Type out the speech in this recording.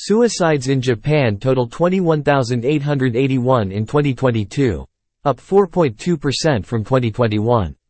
Suicides in Japan total 21,881 in 2022. Up 4.2% from 2021.